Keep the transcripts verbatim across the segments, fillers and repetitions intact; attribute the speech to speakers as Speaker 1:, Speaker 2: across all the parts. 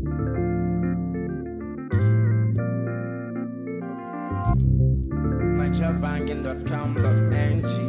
Speaker 1: niger banging dot com dot n g.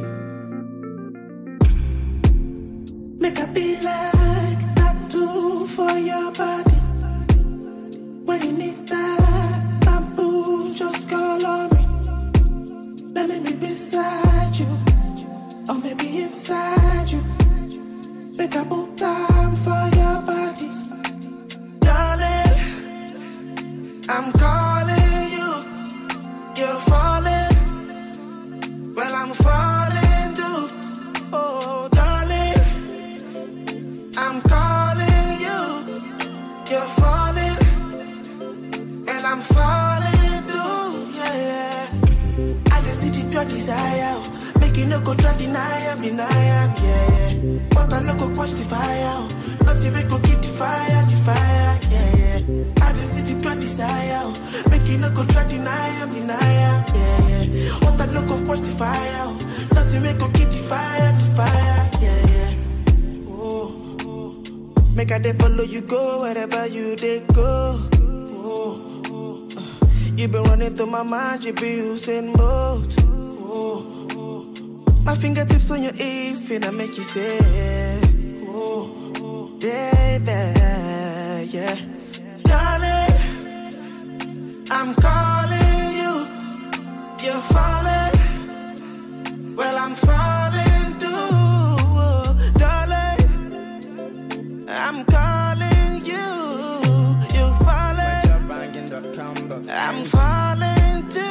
Speaker 2: Make a be like tattoo for your body. When you need that bamboo, just call on me. Let me be beside you, or maybe inside you. Make a book time for your body. Darling, I'm calling you. You're falling. Well, I'm falling too. Oh, darling, I'm calling you. You're falling. And I'm falling too. Yeah, yeah. I can see the pure desire. Make you no go try deny am, deny am, yeah, yeah. But I no go quench the fire. Not even go keep the fire, the fire, yeah, yeah. I just see the pure desire. Make you no go try deny am, deny am, yeah, yeah. But I no go quench the fire. Not even go keep the fire, the fire, yeah, yeah. Oh, oh. Make I dey follow you go wherever you dey go. Oh, oh. You been running through my mind, you be using both. Oh. My fingertips on your hips, finna make you say, oh, baby, yeah. Darling, I'm calling you. You're falling. Well, I'm falling too. Oh, darling, I'm calling you. You're falling. I'm falling too.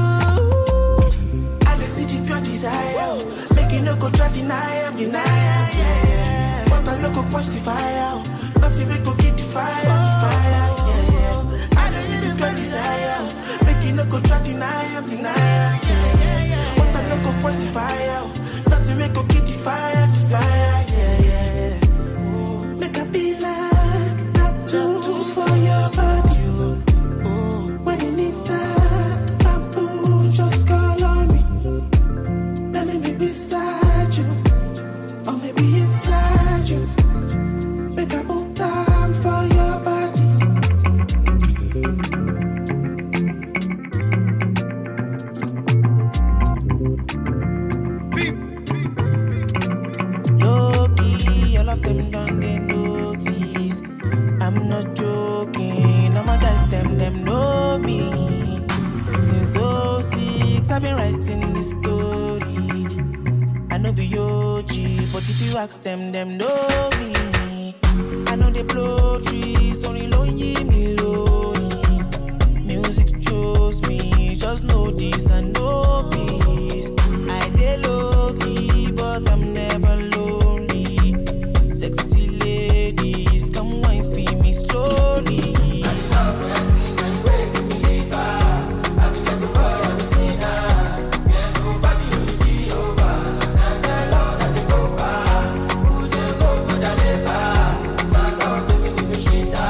Speaker 2: Desire. Make you no go try deny am, deny am, yeah, yeah. But I no go push the fire. Not even go keep the fire, the fire, yeah, yeah. I just see the pure desire. Make you no go try deny am, deny am, yeah, yeah. But I no go push the fire. Not even go keep the fire, the fire, yeah, yeah. Make a be like tattoo for your body. When you need that bamboo, just call on me. Let me be beside you, or maybe inside you. Make a book time for your body. Low-key, all of them done they notice. I'm not joking, all my guys, them, them know me. Since oh six, I've been writing this story. I know be O G, but if you ask them, them know me. I know they blow trees, only lonely me lonely. Music chose me, just know this and know peace. I dey low key, but I'm never lonely. Sexy ladies, come wine for me slowly. She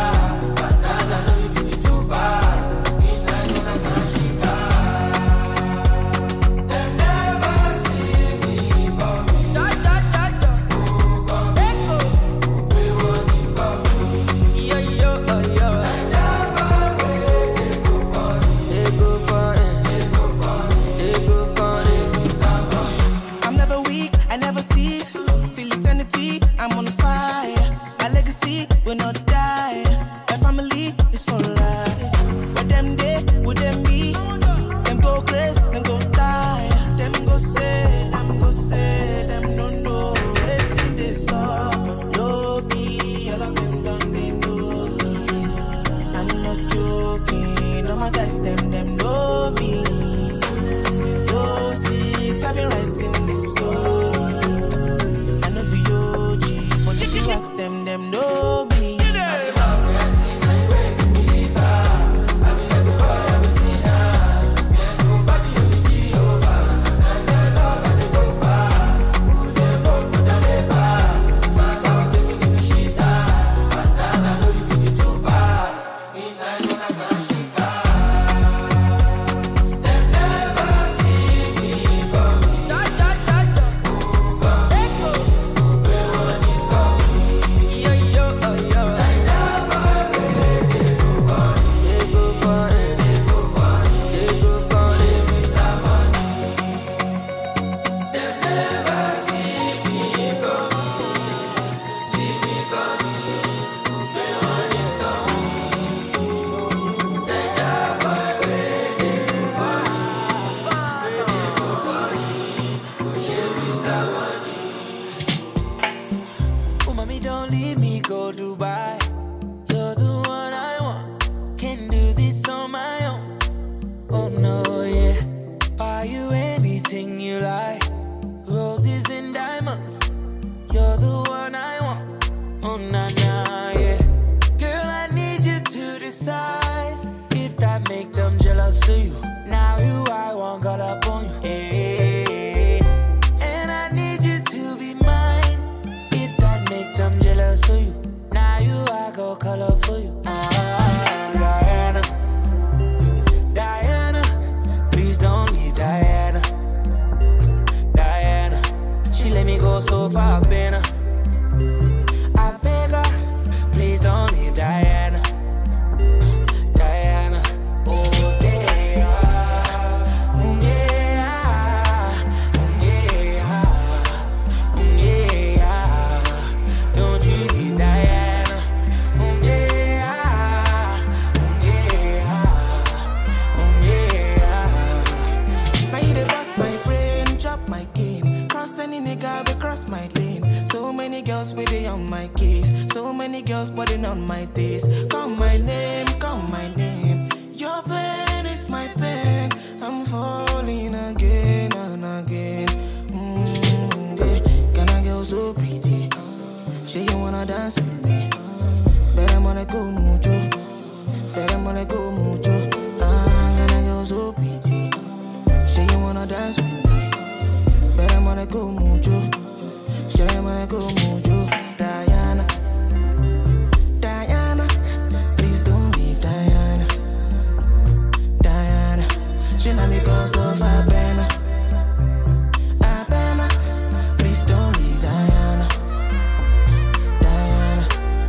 Speaker 2: for you. Ah, Diana, Diana, please don't leave Diana. Diana, she let me go so far, Bena. I beg her, please don't leave Diana. Diana, oh yeah, oh yeah, oh yeah, oh yeah. Don't you leave Diana, oh yeah, oh yeah, oh yeah. Now you dey bust my brain, chop my game. Cross any nigga we cross my lane. So many girls waiting on my case. So many girls putting on my taste. Call my name, call my name. Your pain is my pain. I'm falling again and again. Mm, yeah. Can I get so pretty? Say you wanna dance with me? Better wanna go mucho. Better wanna go mucho. Ah, can I get so pretty? Say you wanna dance with me? Better wanna go mucho. Say you wanna go mucho. Diana, Diana, please don't leave Diana. Diana, she let me go so far, Bena. Ah, Bena, please don't leave Diana. Diana.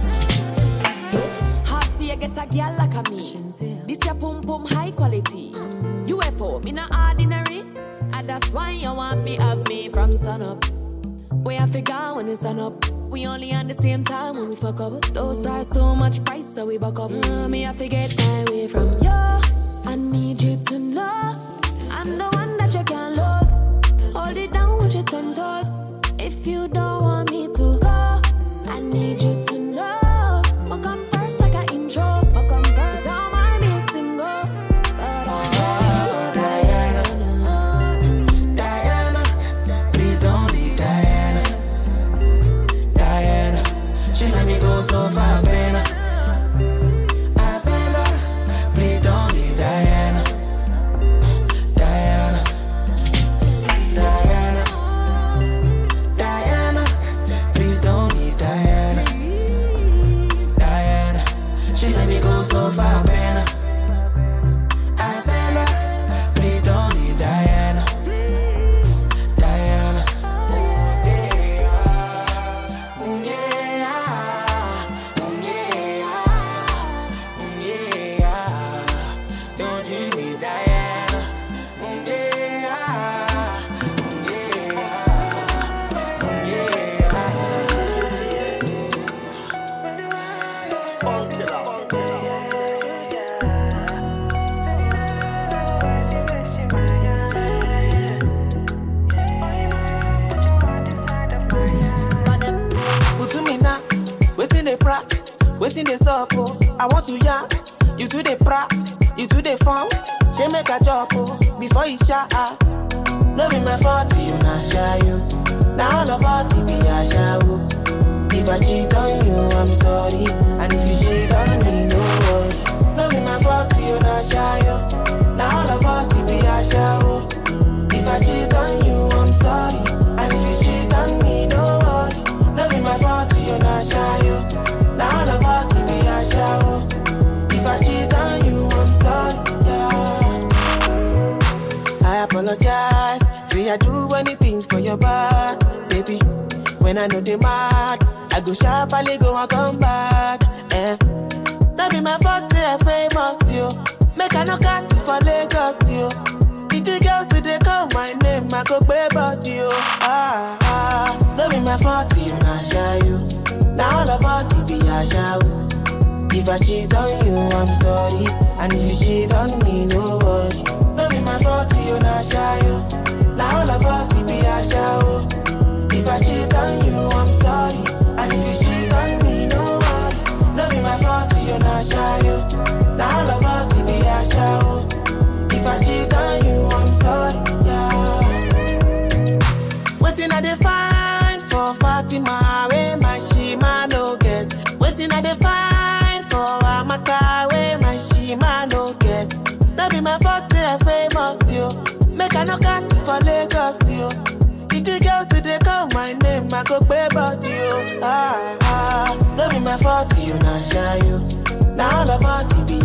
Speaker 3: Hard for you get a girl like a me. This your pum pum high quality. U F O, me not ordinary. And that's why you want me have me from sun up. We have figure when it's sun up. We only on the same time when we fuck up. Those stars too much bright, so we buck up. Mm, me I forget my way from you. I need you to know I'm the one that you can't lose. Hold it down with your ten toes. If you don't want me to go, I need you to know. I'll come first like an intro. I'll come first, 'cause I don't mind being single. But I know
Speaker 2: Diana, Diana, please don't leave Diana. Diana, she let me go so far, Bena. I Bena, please don't leave Diana. Diana, Diana, Diana, please don't leave Diana. Diana, she let me go so far, Bena. I Bena, please don't leave Diana. Diana, oh yeah, oh yeah, oh yeah, oh yeah. Don't you leave Diana. Oh yeah, oh yeah, oh yeah.
Speaker 1: Bunk it up.
Speaker 2: Put to me now, waiting they pra, waiting they sup, oh. I want to ya, you to the pra, you to the farm. She make a job, oh, before you shot. No be my fault, you not shy you. Now all of us, it be a show. If I cheat on you, I'm sorry. And if you cheat on me, no worry. No be my fault, you not shy you. Now all of us, it be a show. If I cheat on you, I'm sorry. And if you cheat on me, no worry. No be my fault, you not shy you. Now all of us, it be a show. If I cheat on you, I'm sorry. Yeah. I apologize. Say I do anything for your back, baby. When I know they mad, I go sharply go and come back. Eh. That be my fault, say I famous, yo. Make I no cast it for Lagos, yo. If the girls say they call my name, I go pay body, yo. Ah, ah. That be my fault, you not shy, you. Now all of us, it be a show. If I cheat on you, I'm sorry. And if you cheat on me, no worry. That be my fault, you not shy, you. Now all of us, it be a show. If I cheat on you, I'm sorry. And if you cheat on me, no worry. No be my fault, you're not shy, you. Now all of us, it be a show. If I cheat on you, I'm sorry, yeah. Waiting at the fine for Fatima, where my shima no get. Waiting at the fine for Amaka, where my shima no get. That be my fault, say I famous, yo. Make I no cast it for Lagos, yo. If the girls say they call my name, I go pay body, yo. Ah, ah. No be my fault, you not shy, you.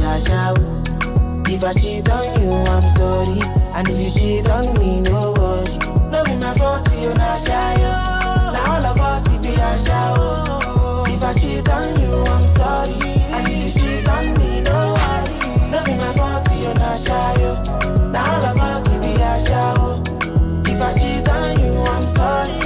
Speaker 2: a shower. If I cheat on you, I'm sorry. And if you cheat on me, no worry. No be my fault, you not shy. Now all of us, it be a shower. If I cheat on you, I'm sorry. And if you cheat on me, no worry. No be my fault, you not shy. Now all of us, it be a shower. If I cheat on you, I'm sorry.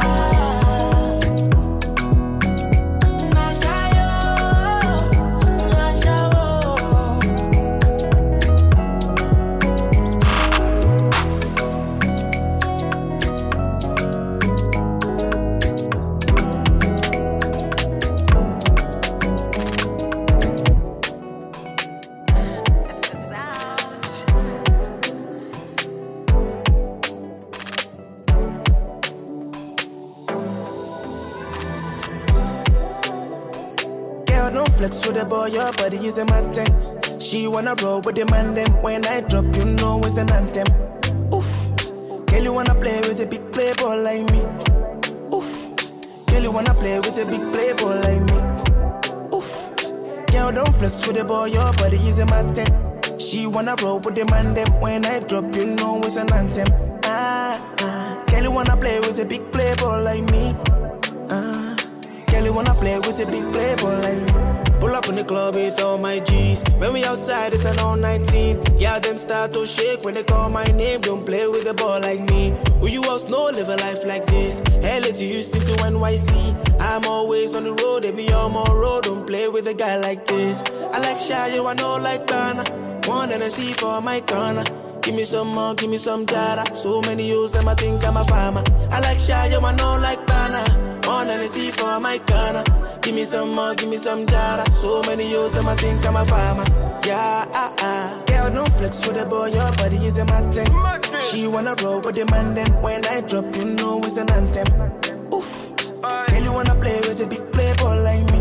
Speaker 2: Flex with the boy, your body is a mountain. She wanna roll with the man them. When I drop, you know it's an anthem. Oof, girl, you wanna play with a big playboy like me. Oof, girl, you wanna play with a big playboy like me. Oof, girl, don't flex with the boy, your body is a mountain. She wanna roll with the man them. When I drop, you know it's an anthem. Ah, ah, girl, you wanna play with a big playboy like me. Ah, girl, you wanna play with a big playboy like me. Pull up in the club with all my G's. When we outside, it's an all nineteen. Yeah, them start to shake when they call my name. Don't play with a ball like me. Who you else know live a life like this? L A to Houston to N Y C. I'm always on the road, they be on my road. Don't play with a guy like this. I like shy, you I know like Ghana. One and I see for my corner. Give me some more, give me some data. So many use them, I think I'm a farmer. I like shy, you I know like Ghana. One and I see for my corner. Give me some more, give me some data. So many use them, I think I'm a farmer. Yeah, ah, ah. Girl, don't flex with the boy, your body is a mountain. She wanna roll with the man then. When I drop, you know it's an anthem. Oof, girl, you wanna play with a big playboy like me.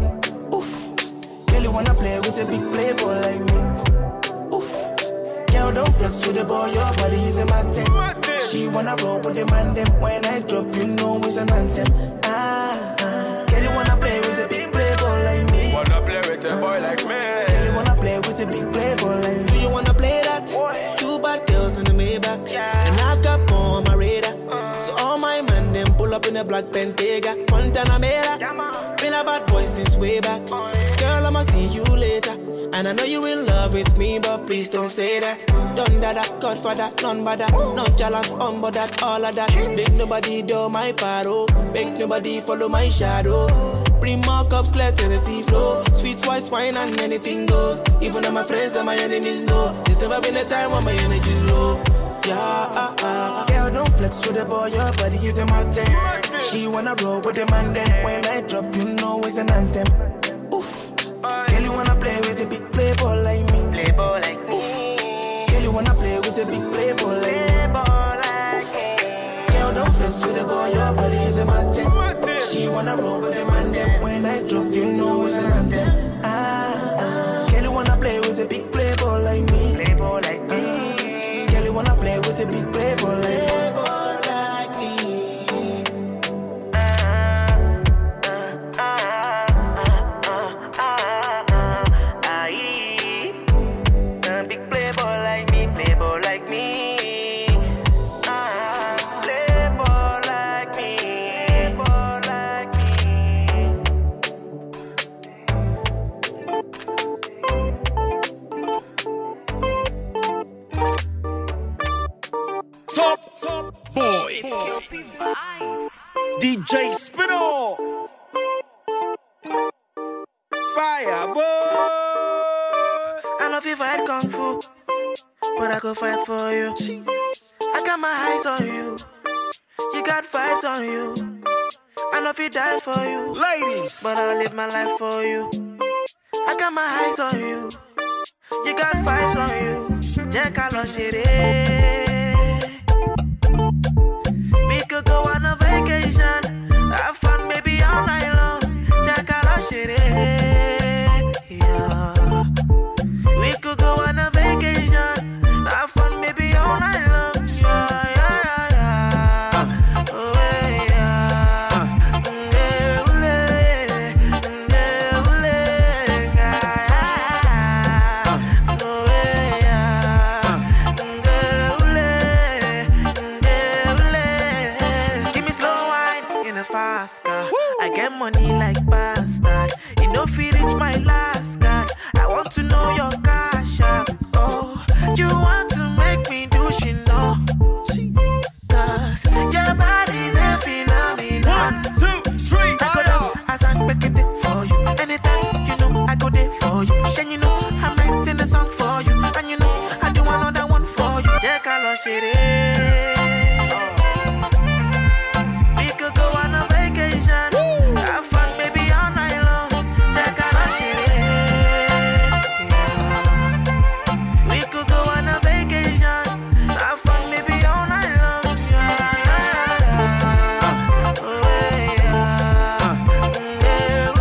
Speaker 2: Oof, girl, you wanna play with a big playboy like me. Oof, girl, don't flex with the boy, your body is a mountain. She wanna roll with the man then. When I drop, you know it's an anthem. Ah, ah. Girl, you wanna play with a big playboy like me.
Speaker 4: Wanna play with a boy like me.
Speaker 2: Girl, you wanna play with a big playboy like me. Do you wanna play that? What? Two bad girls in the Maybach, yeah. And I've got more on my radar. uh. So all my men them pull up in a black Bentayga. Montana Mera, yeah, been a bad boy since way back. oh, yeah. Girl, I'ma see you later. And I know you in love with me, but please don't say that. Done that, Godfather, none but that. Nonchalance, on but that, all of that. Make nobody do my paro. Make nobody follow my shadow. Bring more cups, let Tennessee flow. Sweet white wine and anything goes. Even though my friends and my enemies know. There's never been a time when my energy low. Yeah, ah, ah. Girl, don't flex with the boy, your body is a mountain. She wanna roll with the man then. When I drop, you know it's an anthem. Oof, girl, you wanna play with a big playboy like me.
Speaker 5: Playboy like me.
Speaker 2: Oof, girl, you wanna play with a big playboy like me. Oof, girl, don't flex with the boy, your body is a mountain. She wanna roll with the man then. When I drop, you know it's an anthem. Ah, ah. Girl, you wanna play with a big playboy like me.
Speaker 5: Playboy like me.
Speaker 2: Ah, girl, you wanna play with a big playboy like me. Playboy like me.
Speaker 1: D J Spinall, Fire boy.
Speaker 2: I know if you fight kung fu, but I could fight for you. I got my eyes on you, you got vibes on you. I know if you die for you,
Speaker 1: Ladies,
Speaker 2: but I'll live my life for you. I got my eyes on you, you got vibes on you. Jẹ́ ká lọ ṣeré. We could go on a vacation, have fun maybe all night long. Jẹ́ ká lọ ṣeré. Yeah. We could go on a vacation, have fun maybe all night long. Yeah, yeah, yeah, yeah. Oh, yeah. Ndewule, ndewule, yeah, yeah. money like bastard. You know if you reach my last card, I want to know your cash app. Oh, you want to make me do she know? Jesus, your body's a phenomenon.
Speaker 1: One, two, three,
Speaker 2: I go dance, I sang back it for you. Anytime, you know, I go there for you. Then you know, I'm writing a song for you. And you know, I do another one for you. Check out your shit. We could go on a vacation. Woo! Have fun, baby, all night long. Check out your shit. Yeah. We could go on a vacation. Have fun, baby, all night long. Yeah, yeah, yeah. Oh, yeah. Yeah,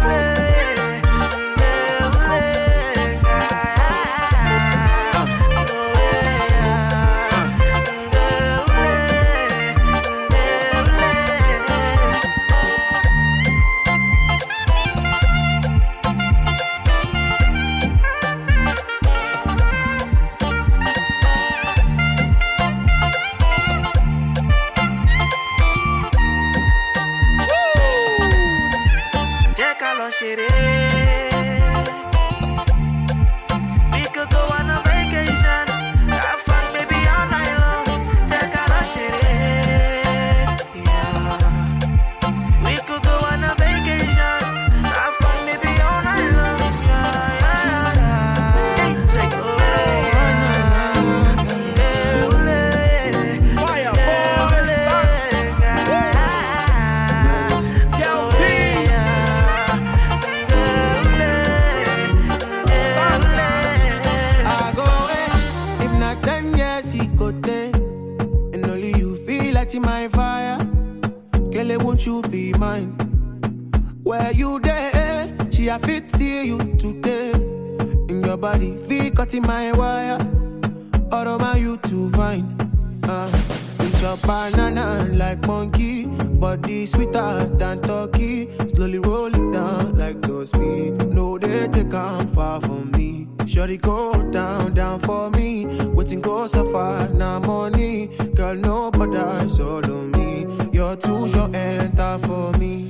Speaker 2: my fire, girl, won't you be mine? Where you there? She a fit see you today. In your body, feel cut in my wire. All of my you too fine. Uh, eat your banana like monkey, body sweeter than turkey. Slowly roll it down like those speed. No, they take on far from me. Shorty go down, down for me. Waiting go so far, now money. Girl, no bother, solo me. You're too short, enter for me.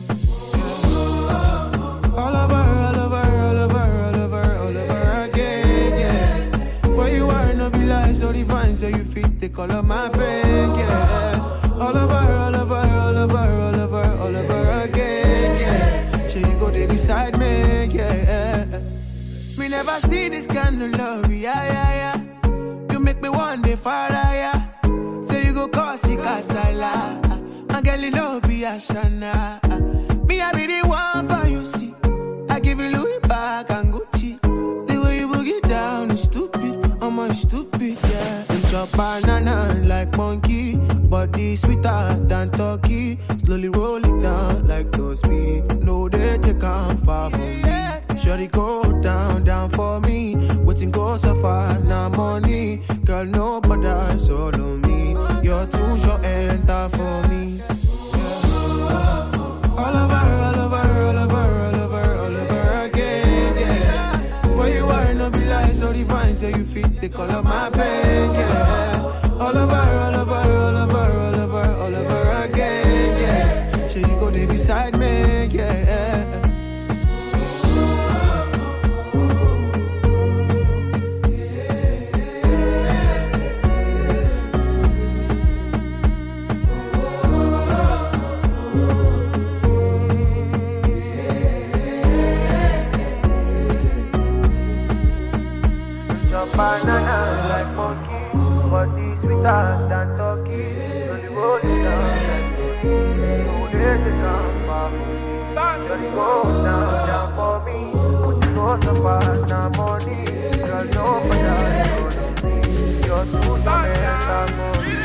Speaker 2: All over, all over, all over, all over, all over again, yeah. Where you are, no be like so divine, so you fit the color of my brain, yeah. All over, all over, all over, all over, all over again, yeah. So you go there beside me, yeah. Me never see this kind of love, yeah, yeah, yeah. You make me one day far higher. Say you go cause it casala. My girl, you love be a shana. Me, I be the one for you, see. I give you Louis back and Gucci. The way you boogie down is stupid. I'm a stupid, yeah. Eat your banana like monkey, body sweeter than turkey. Slowly roll it down like those speed. No, they take on far from me. Shorty go down, down for me. Waiting go so far, now money. Girl, no bother, solo me. You're too short, enter for me. All over, all over, all over, all over, all over again, yeah. Where you are, no be like so divine, so you fit the color of my pain, yeah. All over, all over, all over, all over, all over again, yeah. So you go there beside me, yeah. Banana like monkey, body sweeter than turkey. Slowly roll it down like turkey. No days to come back. Slowly go down, down for me. Put it go so far, now money. Girl, no matter you're too tired, for me.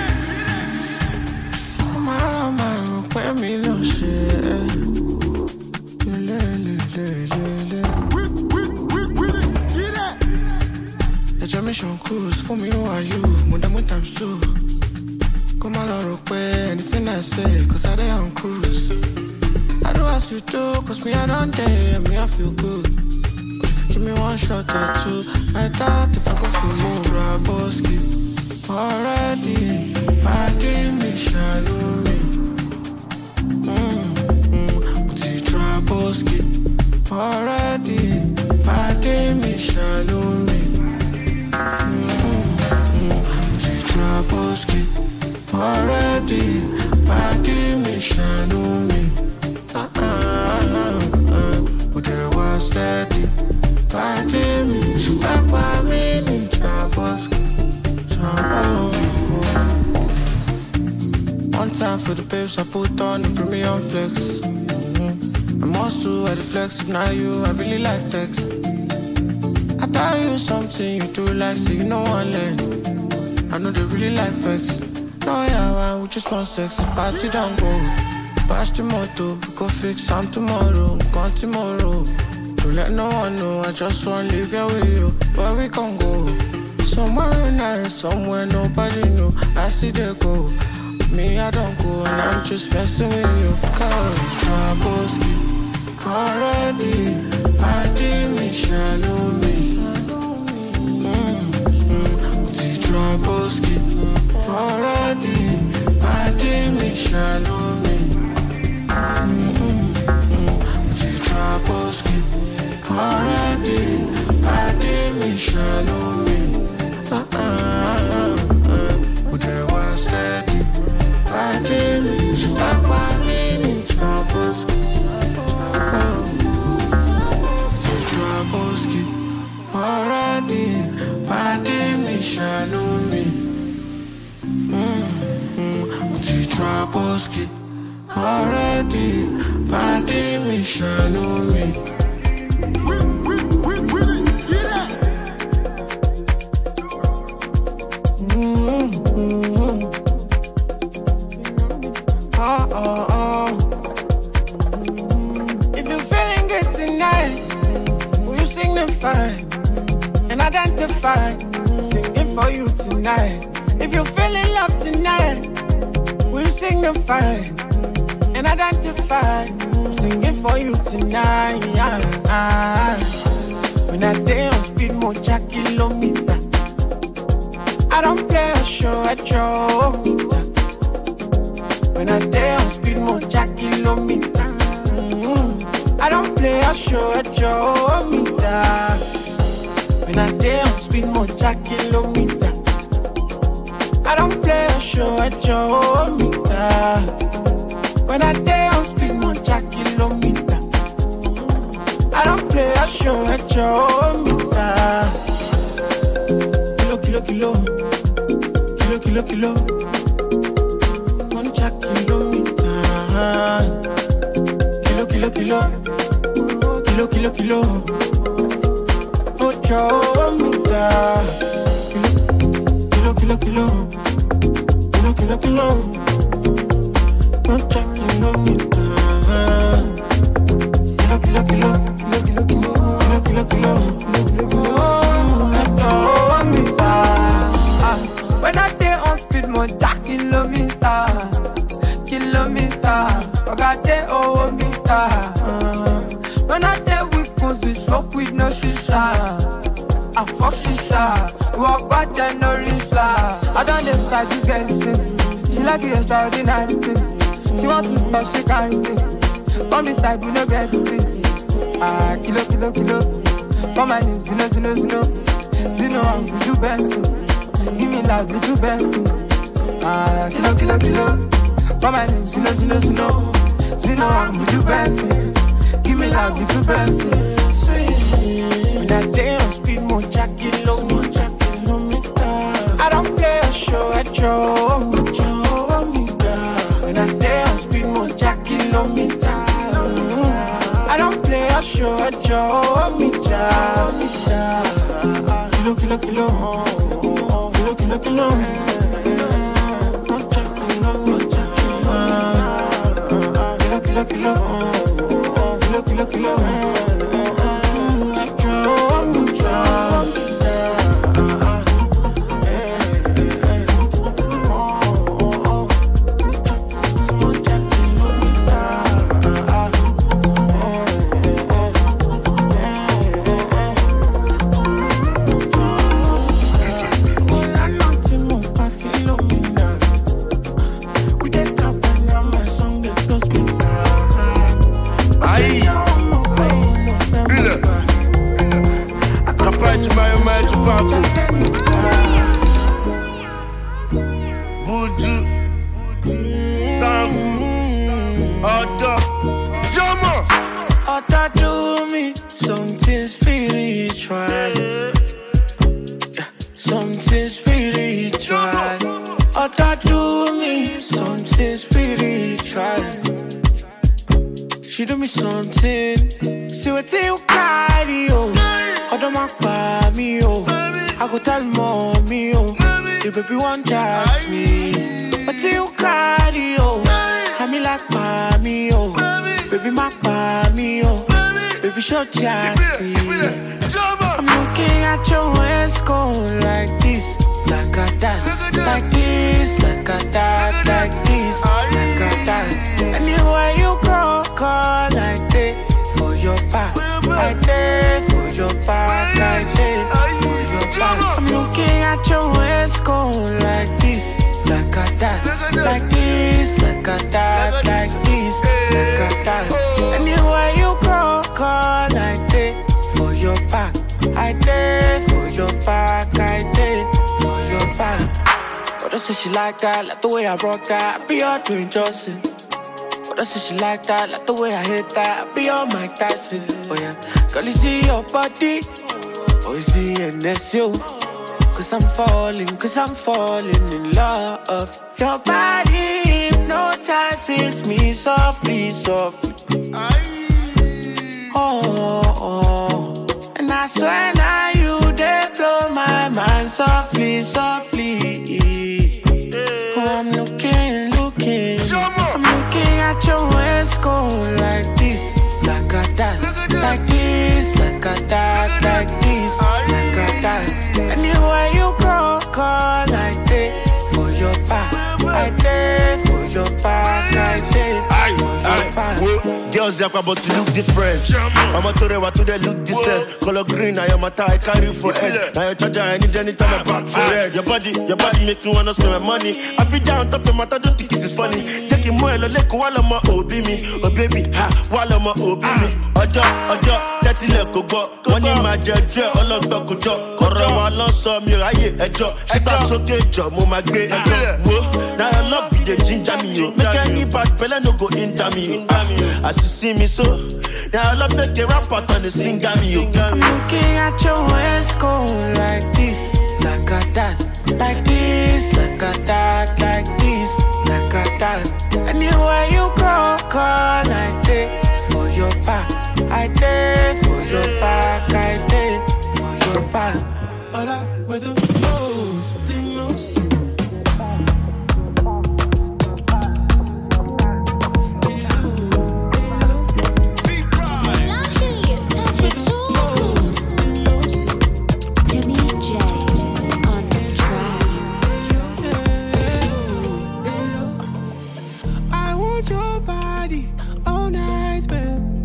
Speaker 2: Tomorrow, tomorrow, when me no shit. Le, le, le, le, le. Mission cruise for me, who are you? More than one times two. Come on, I'll pay anything I say, cause I day on cruise. I do as you do, cause me I don't dare, me I feel good. But if you give me one shot or two, I doubt if I go feel more. Traboski, already, I didn't me shallow me. Mmm, mmm, but you trouble Traboski. Already, party me, shalom me. Traboski. Already, party me, shalom me. Ah ah ah, but there was steady. Party me, Papa me, Traboski. One time for the babes, I put on the premium flex. I must do at the flex, if not you, I really like text. I tell you something, you do like, so you know one leg. I know they really like flex. No, yeah, man, we just want sex, if party don't go. Pass the motto, we go fix some tomorrow, gone tomorrow. Don't let no one know, I just want to live here with you. Where we can go? Somewhere nice, somewhere nobody know. I see they go. Me, I don't go, and I'm just messing with you. Cause Traboski. Already, party me, shallow me. Mm-hmm. Traboski. Already, party me, shallow me. Mm-hmm. Traboski. Already, party me, shallow me. Uh-uh, uh-uh. But there was steady. Party me, Papa me, Traboski. Traboski, already, party me, shallow me. Mm-hmm. Traboski, already, party me, shallow me. Mm-hmm. Oh, oh, oh. If you're feeling good tonight, will you signify and identify? I'm singing for you tonight. If you're feeling love tonight, will you signify and identify? I'm singing for you tonight. When I day on speed, mocha kilometer. I don't play a show at your meter. When I day on speed, mocha kilometer. Mm-hmm. I don't play a show at your meter. When I day on speed, mocha kilometer. I don't play a show at your meter. When I day on speed, mocha kilometer. I don't play a show at your meter. Kilo, kilo, kilo. Kilo, kilo, kilo. Mocha kilometer. Kilo, kilo, kilo. Kilo, kilo, kilo. Mocha meter. Kilo, kilo, kilo. Kilo, kilo, kilo. Mocha kilometer. Kilo, kilo, kilo. Kilo, kilo, kilo. Kilo, kilo, kilo.
Speaker 6: When I day on speed, mocha kilometer, kilometer. I got day over meter. When I day with guns, we smoke with no shisha. I fuck shisha. We walk back and no risla. I don't decide this girl listens. She like the extraordinary things. She want to touch, she can't resist. Come this side, we no get disease. Ah, kilo, kilo, kilo. Call my name, Zino, Zino, Zino. Zino, I'm with you, Benson. Give me love, little Benson. Ah, kilo, kilo, kilo. Call my name, Zino, Zino, Zino. Zino, I'm with you, Benson. Give me love, little Benson.
Speaker 2: When I day on speed, mocha kilometer. I don't play a show at your meter. When I day on speed, mocha kilometer. I don't play a show at your meter. Kilo, kilo, kilo. Kilo, kilo, kilo. Mocha kilometer. Kilo, kilo, kilo. Kilo, kilo, kilo. At your meter.
Speaker 1: Chicago. Buju. Sangu. Oda. Jama.
Speaker 2: Oda do me something spiritual. Yeah, something spiritual. Oda do me something spiritual. She do me something. See what you carry, oh. Oda mak pa me, oh. I go tell mommy, oh. The baby want just me. What you carry, oh. I me like mommy, oh. Baby mak pa me, oh. Baby show just see. I'm looking at your waist go like this, like a that, like this, like a that, like this, like a that. Anywhere you go, go like that for your back, like that for your back, like that for your back. I'm looking at your waist go like this, like a that, like this, like a that, like this, like a that. Anywhere you go, go like that for your back. I did for your back, I did for your back. But don't say she like that, like the way I rock that, I be all doing Johnson. But don't say she like that, like the way I hit that, I be all Mike Tyson. Oh yeah, girl you see your body, oh you see and that's you. Cause I'm falling, cause I'm falling in love. Your body hypnotizes me softly, softly. Oh, oh, oh. And I swear now you they blow my mind softly, softly. Oh, I'm looking, looking. I'm looking at your waist go like this, like a that, like this, like a that, like this, like a that. Anywhere you go, go like that for your back. I did for your back, I did for your back.
Speaker 1: Girls, they're about to look different. I'm a today, what do they look decent? Color green, I am a tie, I carry for head. Now your charger, I need anytime I back for red. Your body, your body makes me wanna spend my money. I feel down top of my I don't think it is funny. Taking more, like while I'm a O B me. Oh baby, ha, while I'm a O B me. Ojo, ojo, that's it, let go go. One in my judge, all of the good job. Corra, one on some, you're a ye, a job. She pass okay, job, mama, great. Now I love you, the ginger me. Make any bad fella no go into me. As you see me so, now I love make a rap out on the singer me.
Speaker 2: I'm looking at your waist go like this, like a that, like this, like a that, like this, like a that. Anywhere you go, go like that for your back. I did for your back, I did for your back.
Speaker 7: All I wear the most, the most.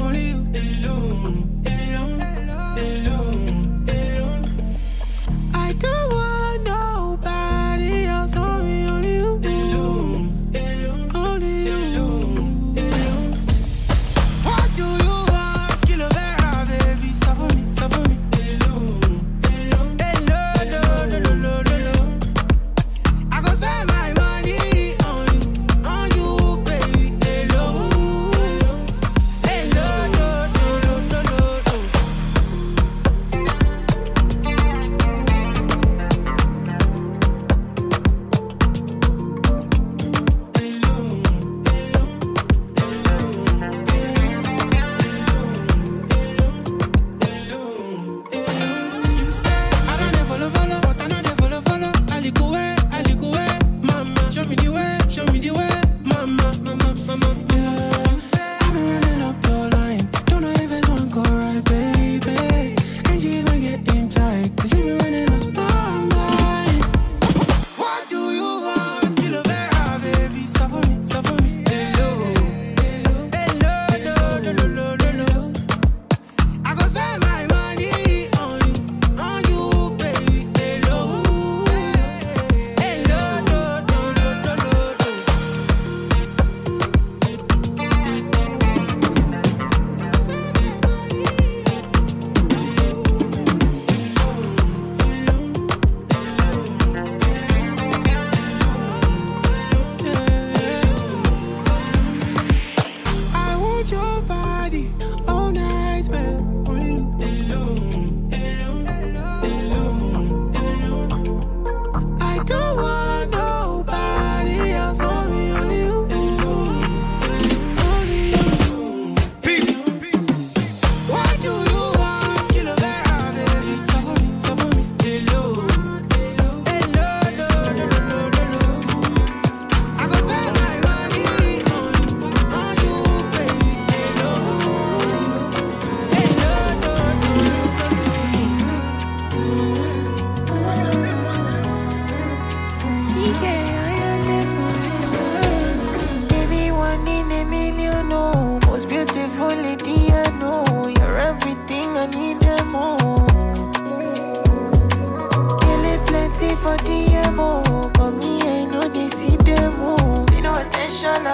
Speaker 2: I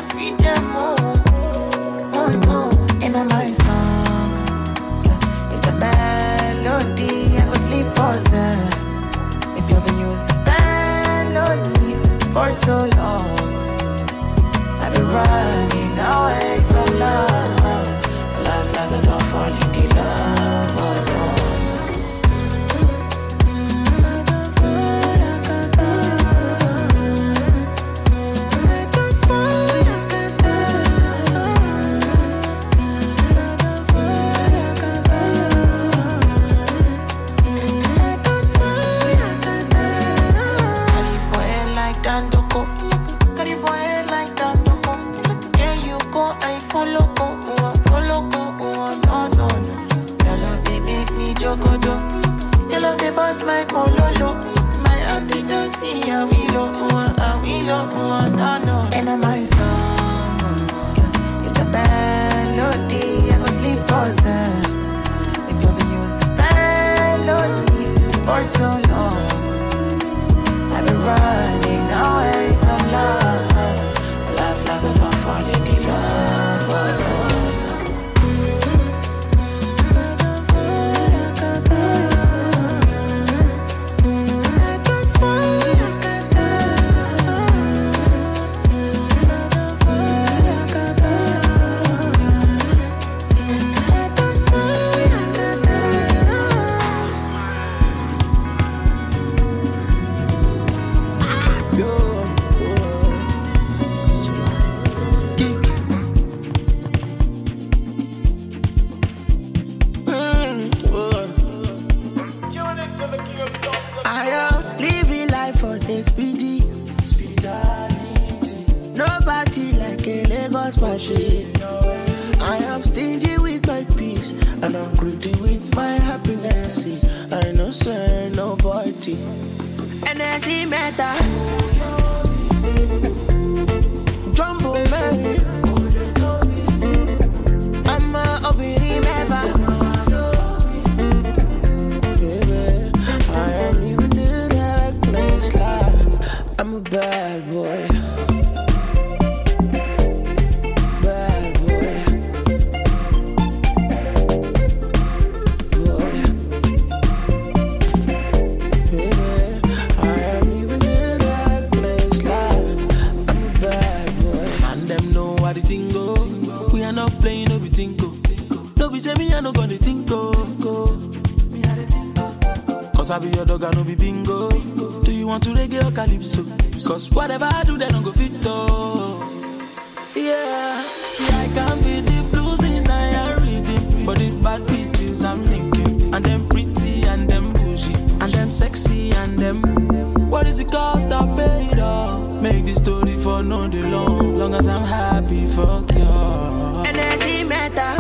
Speaker 2: I feed them all. Oh no, in my song, yeah, it's a melody. I go sleep for them. If you ever use a melody for so long, I've been running away from love. Last, last, I don't fall into love. Oh no. My pololo, my auntie don't see a willow, a willow, no, no. And I'm my song, yeah, it's a melody. I go sleep for them. If you ever use a melody for so long, I've been running away from love. Last, last, I don't fall into love, oh, no.
Speaker 8: I am stingy with my peace, and I'm greedy with my happiness. I know say nobody. Energy matter. Jumbo Mary. I'm a obiri never. Baby, I am living the reckless life. I'm a bad boy. I be your dog, I no be bingo. Do you want to reggae or calypso? Cause whatever I do, they don't go fit though. Yeah, see I can be the blues in I reading, but these bad bitches I'm linking, and them pretty and them bougie, and them sexy and them. What is the cost I paid all? Make this story for no day long. Long as I'm happy, fuck you. Energy matter.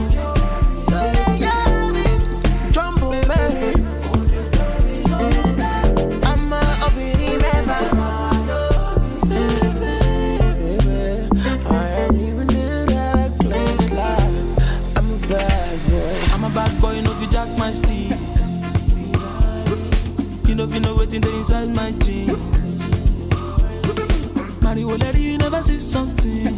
Speaker 8: If you know what's inside my jeans, Mario lady, you never see something.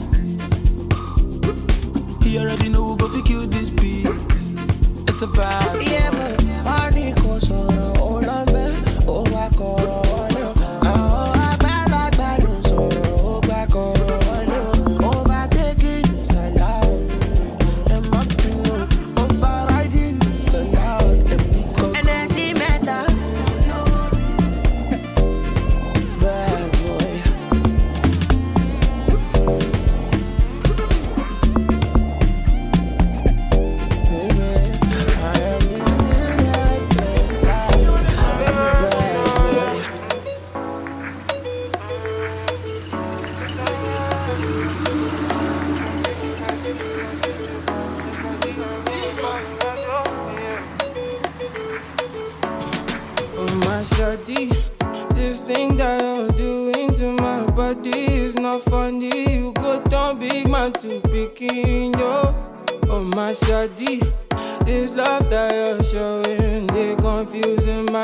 Speaker 8: He already know who go fi kill this beat. It's a bad boy. Yeah, but money goes on all of me. Oh, I call on you. Oh, I bad, I bad, no sorrow. Oh, back on you. Overtaking is allowed. And my people, overriding is allowed. And as he met that.
Speaker 6: This thing that you're doing to my body is not funny. You go down big man to picking yo. Oh my shawty, this love that you're showing, they confusing my head.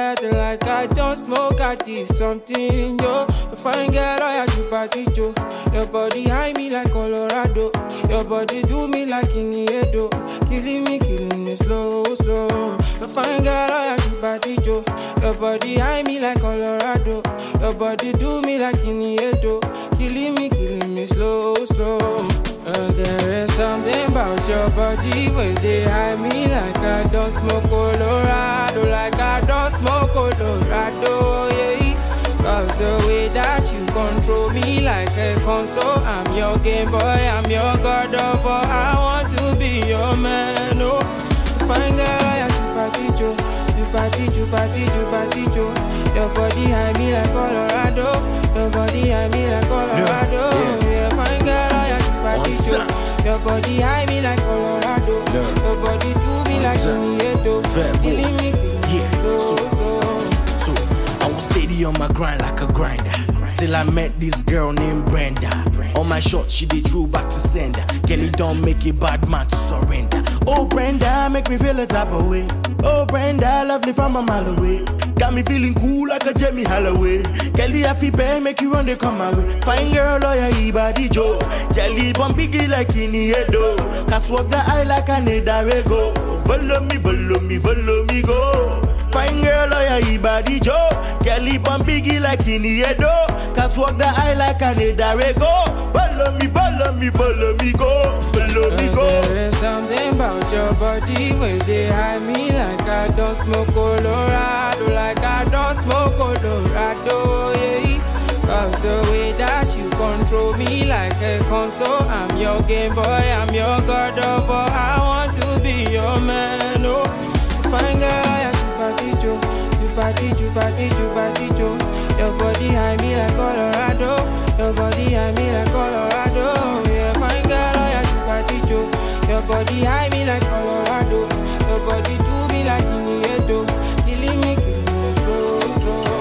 Speaker 6: breath like I don't smoke. I did something, yo. A fine girl, I had to party, yo. Your body high me like Colorado. Your body do me like Iniedo. Killing me, killing me slow, slow. A fine girl, I had to party, yo. Your body high me like Colorado. Your body do me like Iniedo. Killing me, killing me slow, slow. Uh, there is something about your body where they hide me like I don't smoke Colorado, like I don't smoke Colorado, yeah. Cause the way that you control me like a console, I'm your Game Boy, I'm your God of War. I want to be your man, oh. Fine girl, I have to party, Joe. You party, you party, you party, Joe. Your body hide me like Colorado. Your body hide me like Colorado. Yeah, yeah. Yeah, fine girl, I have to party, Joe. Your body high me like Colorado. Look. Your body do me like Iniedo. Killing me, killing me, yeah. Slow, so, slow.
Speaker 9: So, I was steady on my grind like a grinder. Till I met this girl named Brenda. On my shot, she did true back to sender. Kelly don't make a bad man to surrender. Oh Brenda, make me feel a type of way. Oh Brenda, lovely from a mile away. Got me feeling cool like a Jamie Holloway. Kelly, I feel bad, make you run, they come my way. Fine girl, lawyer, he body Joe. Jelly, bomb biggie like Iniedo. Cats walk the eye like a Nedarego. Follow me, follow me, follow me, go. Fine girl, lawyer, he body Joe. Kelly, bomb biggie like Iniedo. Cats walk the eye like a Nedarego. Follow me, follow me, follow me, go. Follow me, go.
Speaker 6: There is something about your body where they hide me like I don't smoke Colorado, like I don't smoke Colorado, yeah. Cause the way that you control me like a console, I'm your Game Boy, I'm your God of War. I want to be your man, oh. Fine girl, I have to party, Joe. You party, you party, you party, Joe. Your body high me like Colorado. Your body high me like Colorado. Yeah, fine girl, I have to party, Joe. Your body high me like Colorado. Your body do me like Iniedo. Killing me, killing me slow, slow.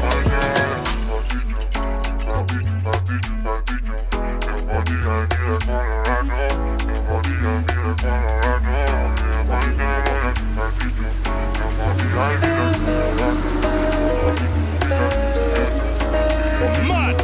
Speaker 2: Mad.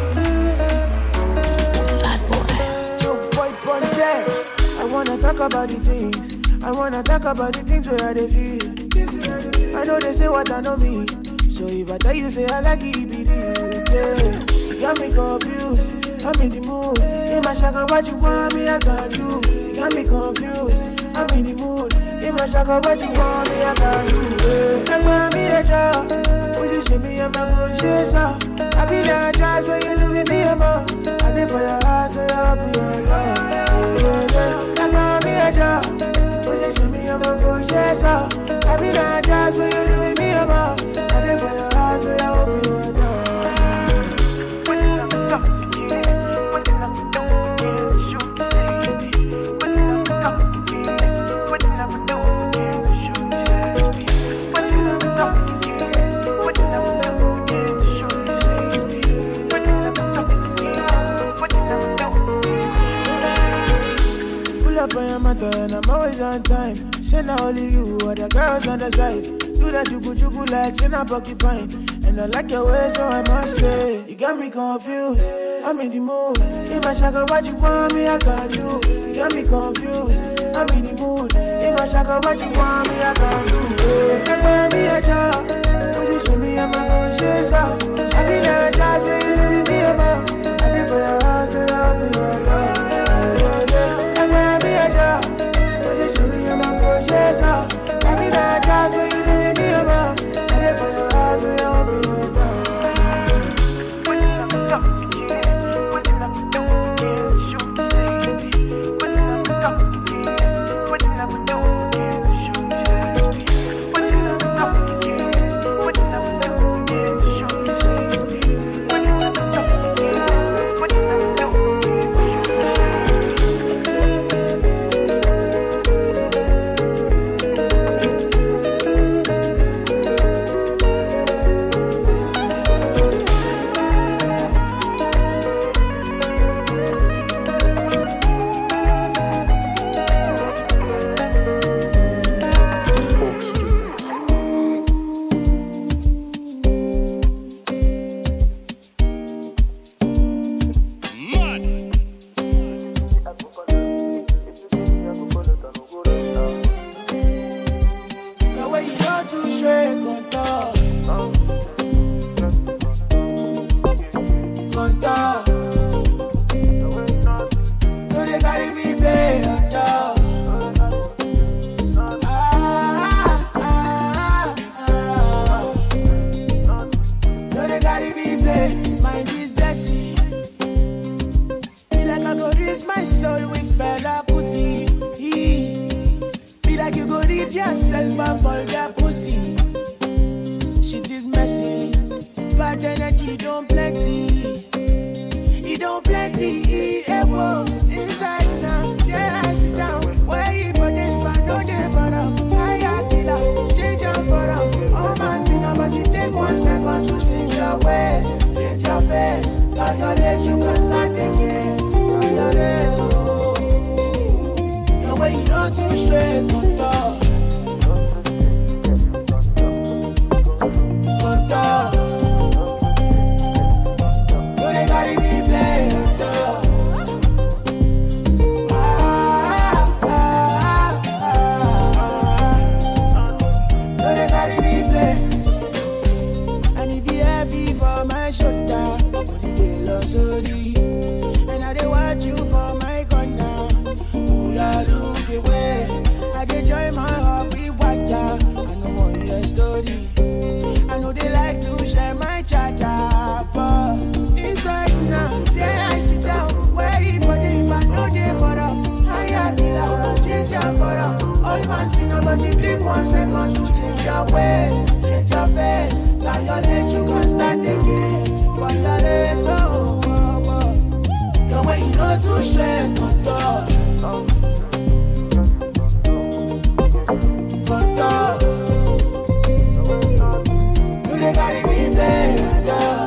Speaker 6: Fat boy.
Speaker 2: Joe boy on deck. I wanna talk about the things. I wanna talk about the things where I feel. I know they say what I know me. So if I tell you say I like it, be the yes. You got me confused. I'm in the mood. In my shaka, what you want me, I got you. You got me confused. I'm in the mood. In my shaka, what you want me, I got you. Like want me a job. Position me, I'm a good I be that jazz when you look at me, I'm a I did for your house, so I'll be your dog. Like want me a job. Position me, I'm a good I be that jazz when you look at me, I'm a I did for your house, so I'll be your dog. And I'm always on time. Say not only you, other girls on the side. Do that jugu jugu like say not porcupine. And I like your way, so I must say you got me confused. I'm in the mood. In my shaka, what you want me, I got you. You got me confused. I'm in the mood. In my shaka, what you want me, I got you. Like buy me a job. Position me, I'm a conscious out. I be that jazz, but you know me, me about. I did for your house, so I'll be your dog. Like buy me a job. Position me, I'm a conscious out. I be that jazz, but you know me, me about. I did for your house, so I'll be your dog. don't plenty. It don't plenty. Eh, whoa. Inside now, yeah, I sit down. Wait for them, if I know them for them. I got killer, change them for them. Oh man, see now, but you take one second to change your ways, change your face. On your days, you can start again. On your days, oh. The way you know too straight, good talk. Good talk. You they gotta be playing, dog. Ah, ah, ah, ah. You they gotta be playing. And if you heavy for my shoulder, they lost so deep. And I they watch you for my corner. Pull out, look away. I they join my heart with water. I know one your story. I know they like to share my charger, but inside now, there I sit down, waiting for them. If I know they for them, I got it out, change them for them. All man see no, but you take one second to change your ways, change your face. Now your days you can start again. But your days, oh, oh, oh. The way you know too straight, good dog. Good dog. You they gotta be playing, dog.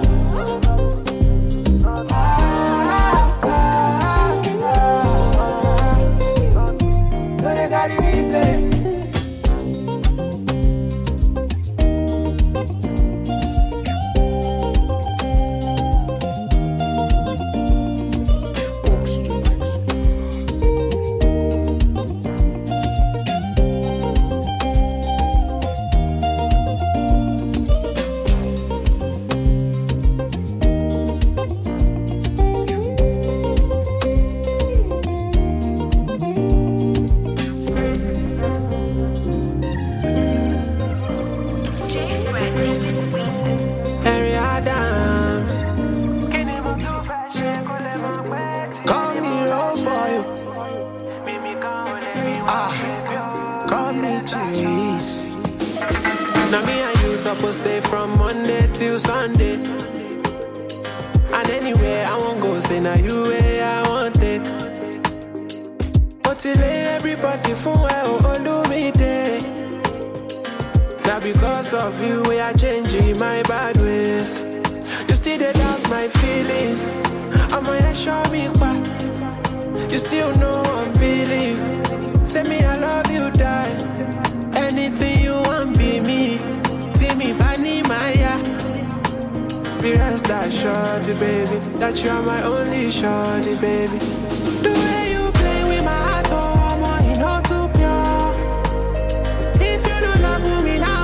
Speaker 2: Ah, ah, ah, ah. You they gotta be playing.
Speaker 6: Harry Adams, call me road boy. Ah, call me cheese. Now me and you supposed to stay from Monday till Sunday. And anywhere I won't go, say now you where I want it. But till everybody for well, oh, do me day. Now because of you, we are changing my bad ways. You still dey doubt my feelings. I'm gonna show me why. You still know I'm believe. Say me I love you, die. Anything you want, be me. See me, Bani Maya. Be rest assured, baby, that you're my only shorty, baby. The way you play with my heart, oh, I'm you know too pure. If you don't love me now,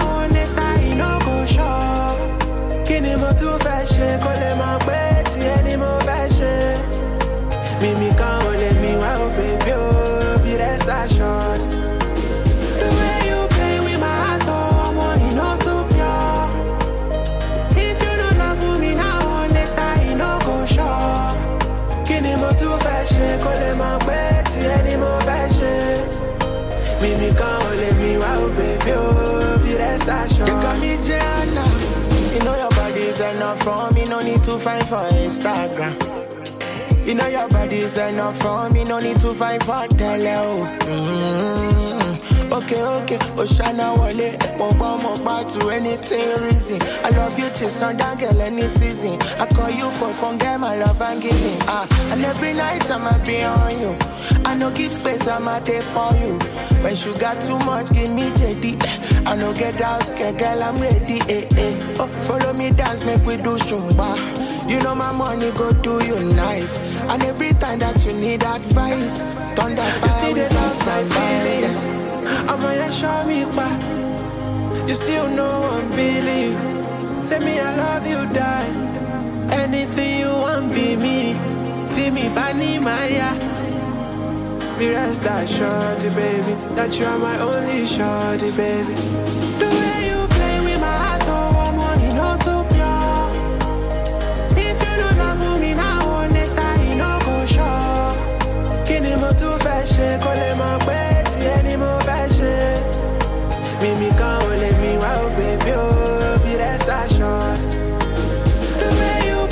Speaker 6: too fashion, call them my betty, any more fashion. Mimi can't let me wow, baby, oh, be rest assured. The way you play with my heart, oh, I'm you know too pure. If you don't love me now, later you know go sure. Kini mo too fashion, call them my betty, any more fashion. Mimi can't let me wow, baby, oh, be rest assured. You got me Gianna. You know your body's enough for me, no need to fight for Instagram. You know your body's enough for me, no need to fight for tele. Mm-hmm. Okay, okay, Oshana Wale, Oba Moba to anything reason. I love you till sundown, girl, any season. I call you for fun, girl, my love and giving. Ah, and every night I'ma be on you. I no give space, I'ma there for you. When you got too much, give me J D. I no get out, scared, girl, I'm ready. Eh, eh. Oh, follow me, dance, make we do shumba. You know my money go do you nice. And every time that you need advice, thunder fire with us, my feelings. I'm gonna show me why. You still know I'm believe. Say me I love you, die. Anything you want, be me. See me, Bani Maya. Be rest assured, baby, that you're my only shorty, baby. The way you play with my heart, oh, I'm on you know too pure. If you don't love me now, later you know go sure. Kini mo too fashion, call them my betty, any more fashion. Mimi can't let me wow, baby, oh, be rest assured. The way you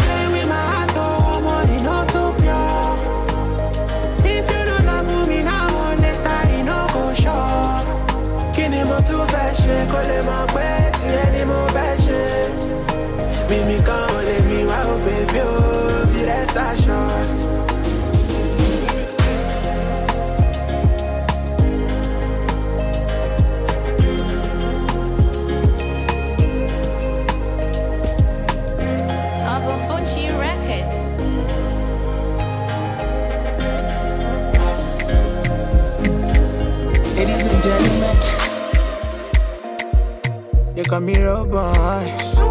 Speaker 6: Mimi can't let me wow, baby, oh, be rest assured.
Speaker 10: Funchi Records.
Speaker 6: Ladies and gentlemen, they call me Road Boy.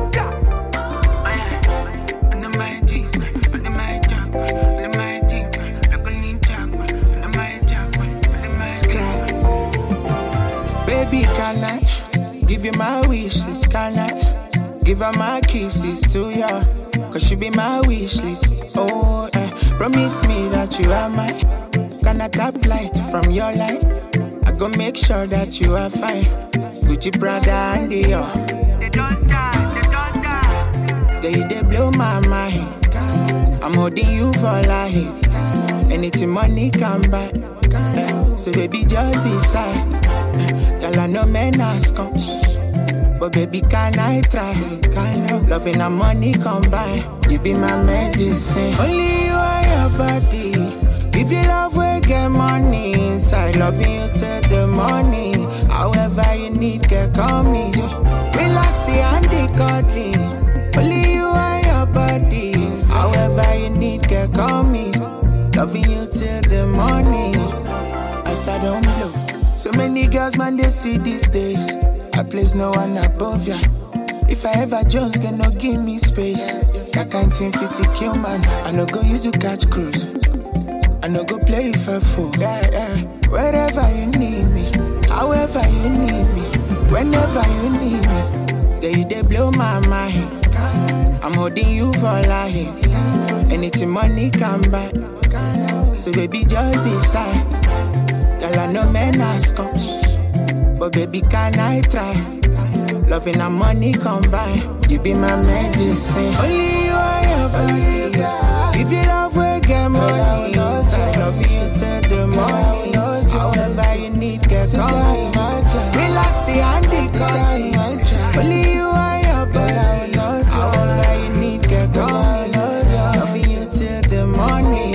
Speaker 6: Baby, can I give you my wishes? Can I give her my kisses to you? Cause she be my wish list. Oh, eh. Promise me that you are mine. Gonna tap light from your light. I go make sure that you are fine. Gucci, Prada, and Dior. They don't die, they don't die. Girl, you they blow my mind. I'm holding you for life. Anything money can buy. Eh. So baby, just decide. Eh. Girl, I know men ask come. But baby, can I try? Kind of loving and money combine. You be my medicine. Only you are your body. If you love, we get money inside. Loving you till the morning. However you need, get call me. Relax the handy cuddly. Only you are your body. However you need, get call me. Loving you till the morning. As I don't blow. So many girls, man, they see these days. I place no one above ya. If I ever Jones, can no give me space. That kind thing fit to kill man. I no go use to catch cruise. I no go play for fool. Yeah, yeah. Wherever you need me, however you need me, whenever you need me. Yeah, you they blow my mind. I'm holding you for life. Anything money can buy. So baby, just decide. Girl, I know men ask come. But baby, can I try? Loving and money combine. You be my medicine. Only you are your body. If you love, we get money. I love you till the morning. However you need, get coming. Relax the handy cuddly. Only you are your body. However you need, get coming. Loving you till the morning.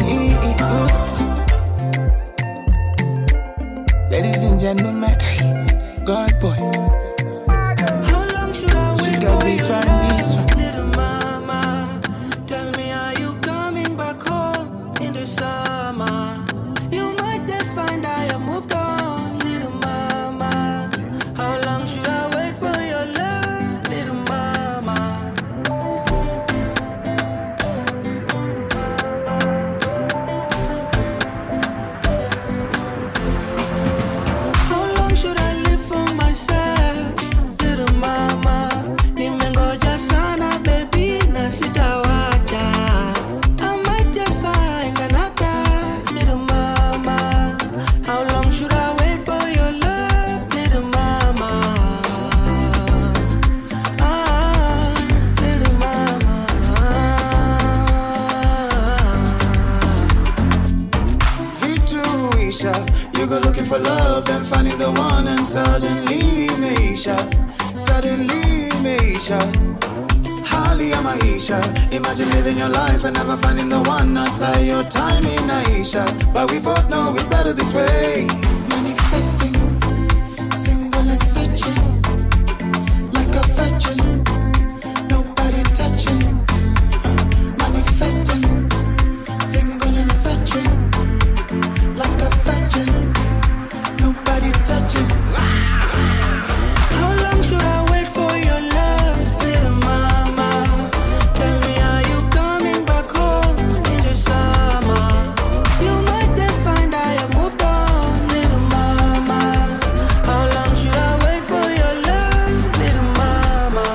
Speaker 6: Ladies and gentlemen, God boy.
Speaker 2: How long should I wait
Speaker 6: She got
Speaker 2: for
Speaker 6: beats
Speaker 2: your
Speaker 6: right
Speaker 2: love,
Speaker 6: this one.
Speaker 2: little mama? Tell me, are you coming back home in the summer? You might just find I have moved on, little mama. How long should I wait for your love, little mama? How long should I live for myself, little mama? Nimengoja sana baby na sitawacha. I might just find another, little mama. How long should I wait for your love, little mama? Ah, little mama.
Speaker 11: Victoria, you go looking for love, then finding the one, and suddenly, Maisha, suddenly, Maisha. Hali ya maisha, imagine living your life and never finding the one. I saw your time in Aisha, but we both know it's better this way. Manifesting, single and searching, like a virgin, nobody touching. Manifesting, single and searching, like a virgin, nobody touching.
Speaker 2: How long should I wait for your love, little mama? Tell me, are you coming back home in the summer? You might just find I have moved on, little mama. How long should I wait for your love, little mama?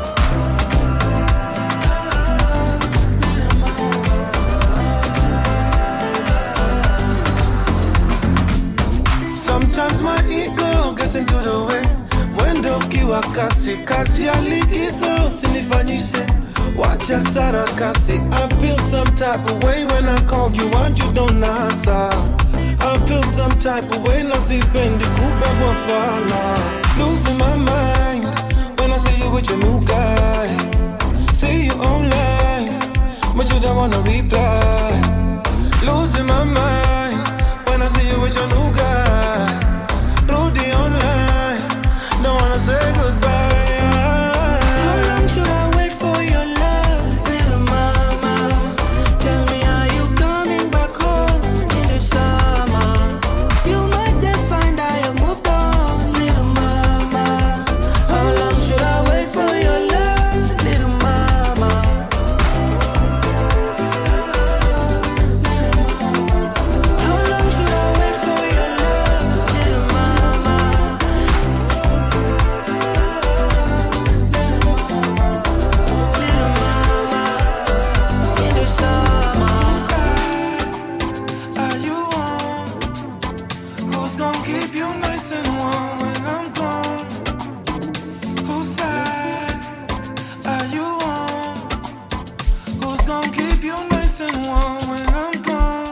Speaker 7: Sometimes my ego gets into the way. Mwendo ukiwa kasi, kazi ya likizo usinifanyishe. Wacha sarakasi. I feel some type of way when I call you and you don't answer. I feel some type of way na sipendi kubebwa fala. Losing my mind when I see you with your new guy. See wanna reply. Losing my mind when I see you with your new guy. Rudy online, don't wanna say goodbye.
Speaker 2: How long should I wait for your love, little mama? Tell me, are you coming back home in the summer? You might just find I have moved on, little mama. How long should I wait for your love, little mama? How long should I wait for your love, little mama? Little mama, in the summer.
Speaker 7: Are you on? Who's gonna keep you nice and warm when I'm gone? Whose side are you on? Who's gonna keep you nice and warm when I'm gone?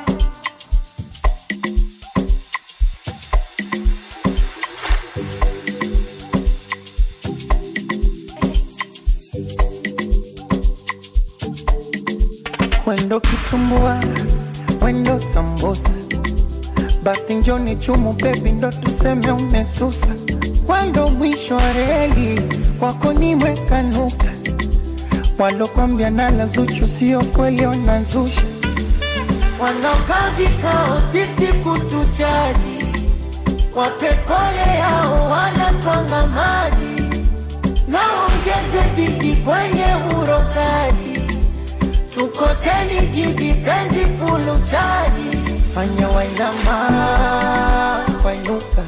Speaker 12: Wendo kitumbua, wendo sambusa, basi njoni chumu baby ndo tuseme umesusa. Wendo mwisho wa reli, kwako nimeweka nukta. Walokwambia nala Zuchu sio kweli wanazusha. Wanaokaa vikao sisi kutujaji, wape pole yao wanatwanga maji. Naongeze bidii kwenye urokaji, tukoteni jibi penzi fulu chaji. Fanya wainama, wainuka,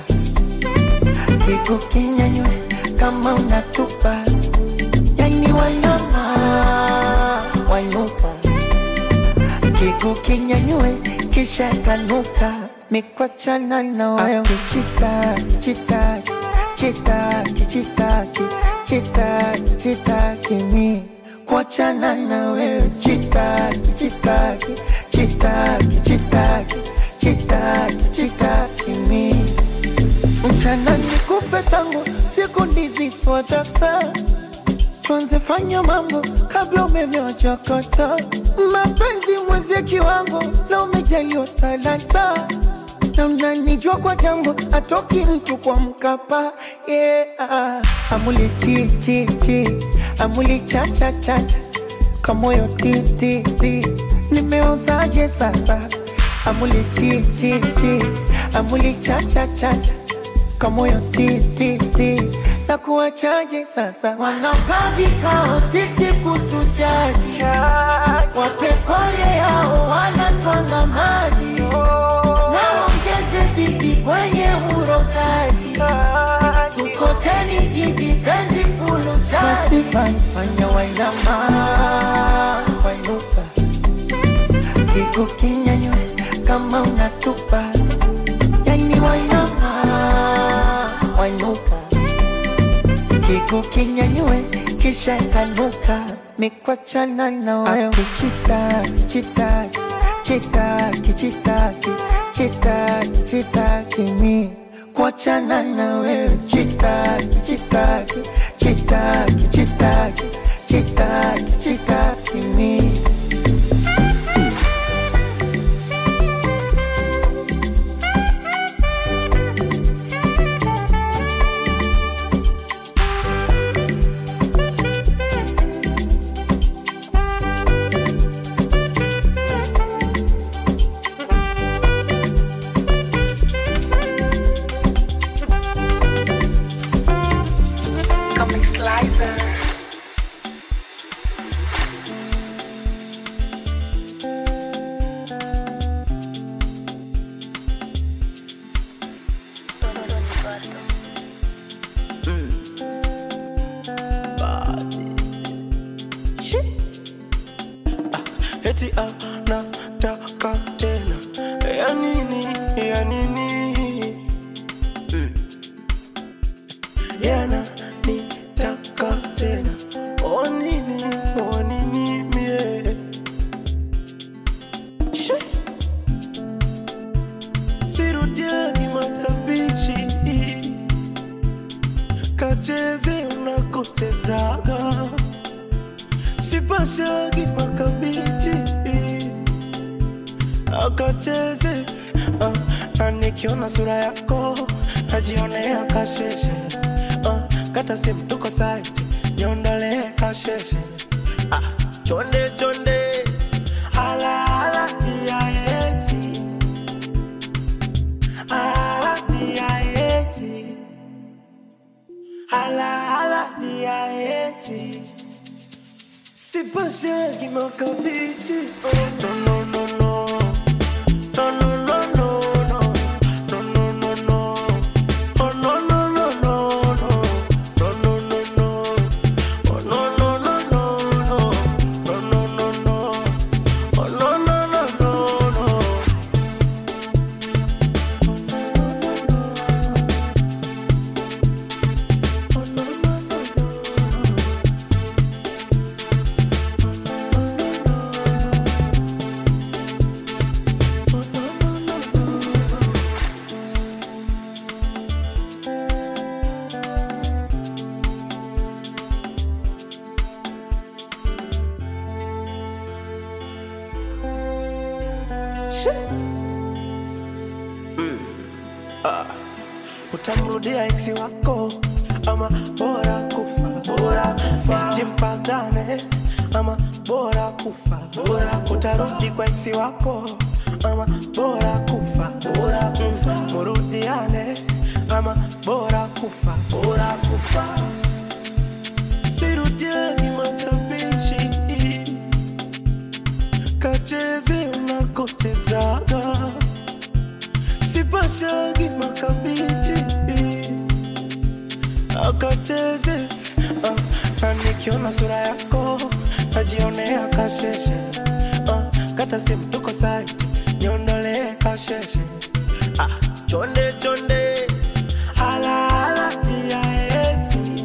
Speaker 12: kiku kinyanywe kama unatupa. Yani wainama, wainuka, kiku kinyanywe kisha kanuka. Mikochana na wayo kichitaki, chitaki, chitaki, chitaki, chitaki, chitaki mi kuachana na wewe. Chitaki, chitaki, chitaki, chitaki, chitaki, chitaki mi. Mchana nikupe tangu siku ndizi swadata. Tuanze fanya mambo kabla umeme wachakata. Mapenzi mwezi kiwango na umejaliwa talanta. Na unanijua kwa jambo atoki mtu kwa Mkapa. Yeah. Amuli chi chi chi, amuli cha cha cha cha, kamoyo ti ti ti, nimeozaje sasa? Amuli chi chi chi, amuli cha cha cha cha, kamoyo ti ti ti, na kuachaje sasa? Wanaokaa vikao sisi kutujaji, wape pole yao wanatwanga maji. Naongeze bidii kwenye urokaji, tukoteni jibi penzi fulu chaji. Fanya wainama, wainuka, kiku kinyanywe kama unatupa. Yani wainama, wainuka, kiku kinyanywe kisha kanuka. Mikochana na wayo kichitaki, chitaki, chitaki, chitaki, chitaki, chitaki mi kuachana na wewe. Chitaki, chitaki, chitaki, chitaki, chitaki, chitaki mi.
Speaker 8: Eti anataka tena, ya nini, ya nini? Mm. Yana nitaka tena, o nini, o nini mie. Sirudiagi matabishi, kacheze unakotezaga. Sipashagi makabichi,
Speaker 9: akacheze uh, na nikiona sura yako najionea kasheshe uh, kata simu tuko site niondole kasheshe ah, chonde chonde hala hala tia eti hala tia eti hala hala tia eti si pasé qui m'en capite oh no no no no no no no no no no no no no oh no no no no no no no no no oh no no no no no no no no no oh no no no no no utamrudia ex wako ama bora kufa bora kufa jimpagane ama bora kufa bora utarudi kwa ex wako ama bora kufa bora kufa murudiane ama bora kufa bora kufa sirudiani matapishi kacheze unakotezaga sipashagi makabichi akacheze uh, na nikiona sura yako najionea kasheshe uh, kata simu tuko site niondole kasheshe ah, chonde chonde hala hala tia eti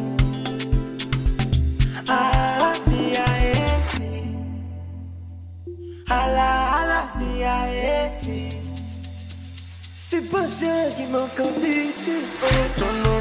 Speaker 9: hala tia eti hala hala tia eti si pasé qui m'en capite oh no